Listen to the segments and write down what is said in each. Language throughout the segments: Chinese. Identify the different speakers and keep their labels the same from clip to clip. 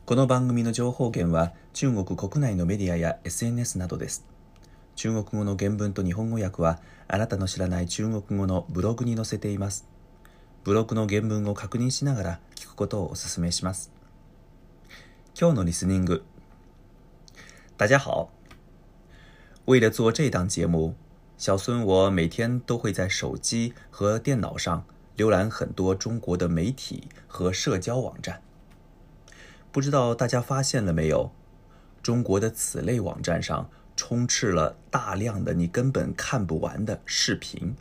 Speaker 1: この番組の情報源は中国国内のメディアや SNS などです。中国語の原文と日本語訳はあなたの知らない中国語のブログに載せています。ブログの原文を確認しながら聞くことをお勧めします。今日のリスニング。大家好。为了做这档节目，小孙我每天都会在手机和电脑上浏览很多中国的媒体和社交网站。不知道大家发现了没有，中国的此类网站上充斥了大量的你根本看不完的视频。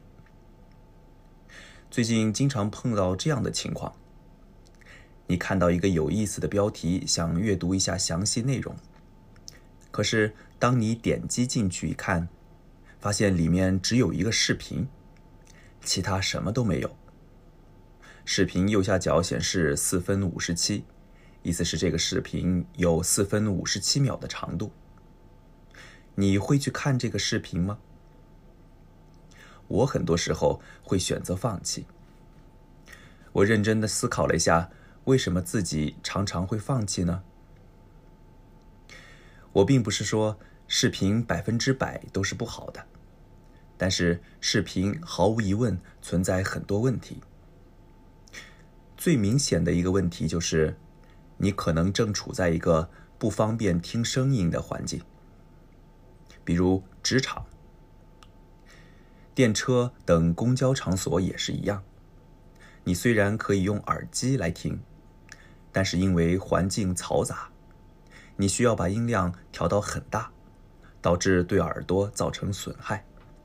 Speaker 1: 最近经常碰到这样的情况，你看到一个有意思的标题，想阅读一下详细内容，可是当你点击进去一看，发现里面只有一个视频，其他什么都没有。视频右下角显示4分57，意思是这个视频有4分57秒的长度。你会去看这个视频吗？我很多时候会选择放弃。我认真地思考了一下，为什么自己常常会放弃呢？我并不是说视频100%都是不好的，但是视频毫无疑问存在很多问题。最明显的一个问题就是，你可能正处在一个不方便听声音的环境，比如职场、电车等公交场所也是一样。你虽然可以用耳机来听，但是因为环境嘈杂，你需要把音量调到很大，导致对耳朵造成损害。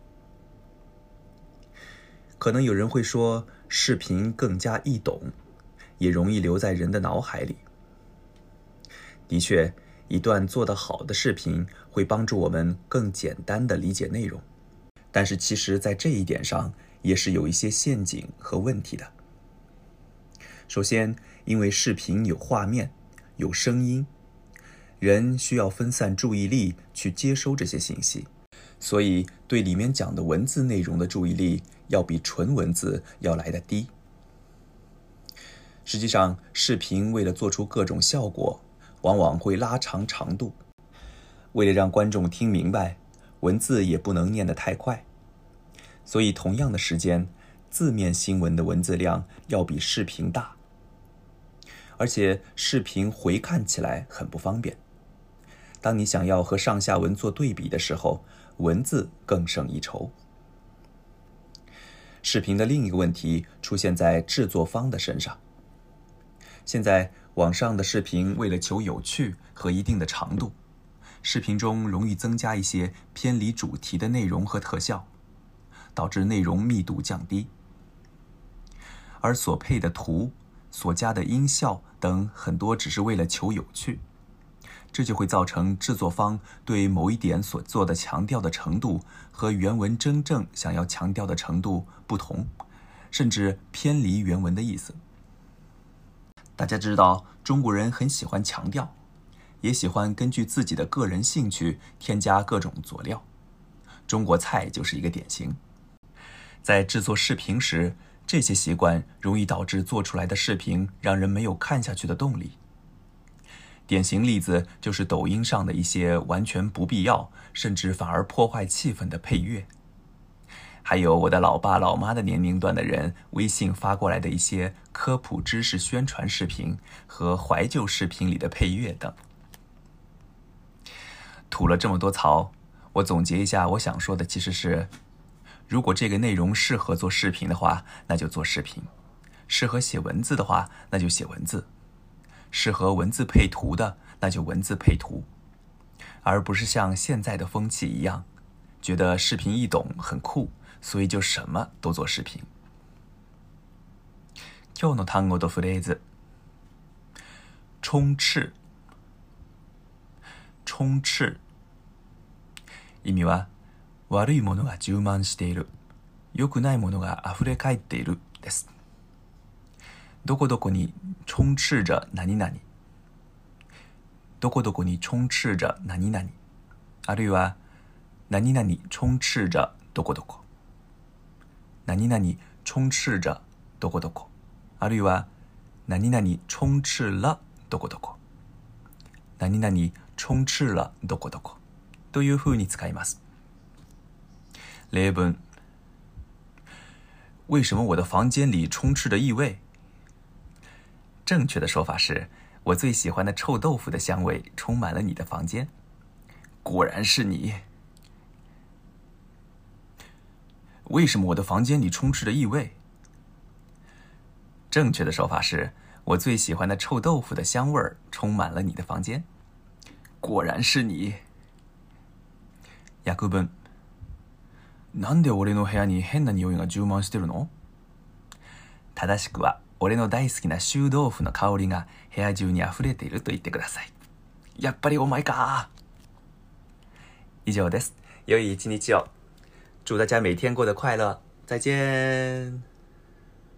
Speaker 1: 可能有人会说，视频更加易懂，也容易留在人的脑海里。的确，一段做得好的视频会帮助我们更简单地理解内容，但是其实在这一点上也是有一些陷阱和问题的。首先，因为视频有画面、有声音，人需要分散注意力去接收这些信息，所以对里面讲的文字内容的注意力要比纯文字要来得低。实际上，视频为了做出各种效果，往往会拉长长度。为了让观众听明白，文字也不能念得太快，所以同样的时间，字面新闻的文字量要比视频大。而且视频回看起来很不方便，当你想要和上下文做对比的时候，文字更胜一筹。视频的另一个问题出现在制作方的身上。现在网上的视频为了求有趣和一定的长度，视频中容易增加一些偏离主题的内容和特效，导致内容密度降低，而所配的图、所加的音效等很多只是为了求有趣，这就会造成制作方对某一点所做的强调的程度和原文真正想要强调的程度不同，甚至偏离原文的意思。大家知道，中国人很喜欢强调，也喜欢根据自己的个人兴趣添加各种佐料。中国菜就是一个典型。在制作视频时，这些习惯容易导致做出来的视频让人没有看下去的动力。典型例子就是抖音上的一些完全不必要，甚至反而破坏气氛的配乐。还有我的老爸老妈的年龄段的人微信发过来的一些科普知识宣传视频和怀旧视频里的配乐等。吐了这么多槽，我总结一下，我想说的其实是，如果这个内容适合做视频的话，那就做视频；适合写文字的话，那就写文字；适合文字配图的，那就文字配图，而不是像现在的风气一样，觉得视频易懂很酷，所以就什么都做視頻。今日の単語とフレーズ。充斥。充斥。意味は、悪いものが充満している。良くないものが溢れ返っているです。どこどこに充斥着何々。どこどこに充斥着何々。あるいは、何々充斥着どこどこ。何々充斥着どこどこ。あるいは、何々充斥了どこどこ。 何々充斥了どこどこ。というふうに使います。例文。为什么我的房间里充斥着异味？正确的说法是，我最喜欢的臭豆腐的香味充满了你的房间。果然是你。为什么我的房间里充斥着异味？正确的说法是，我最喜欢的臭豆腐的香味充满了你的房间。果然是你。訳文。なんで俺の部屋に変な匂いが充満してるの？正しくは、俺の大好きな臭豆腐の香りが部屋中に溢れていると言ってください。やっぱりお前か。以上です。良い一日を。祝大家每天过得快乐。再见。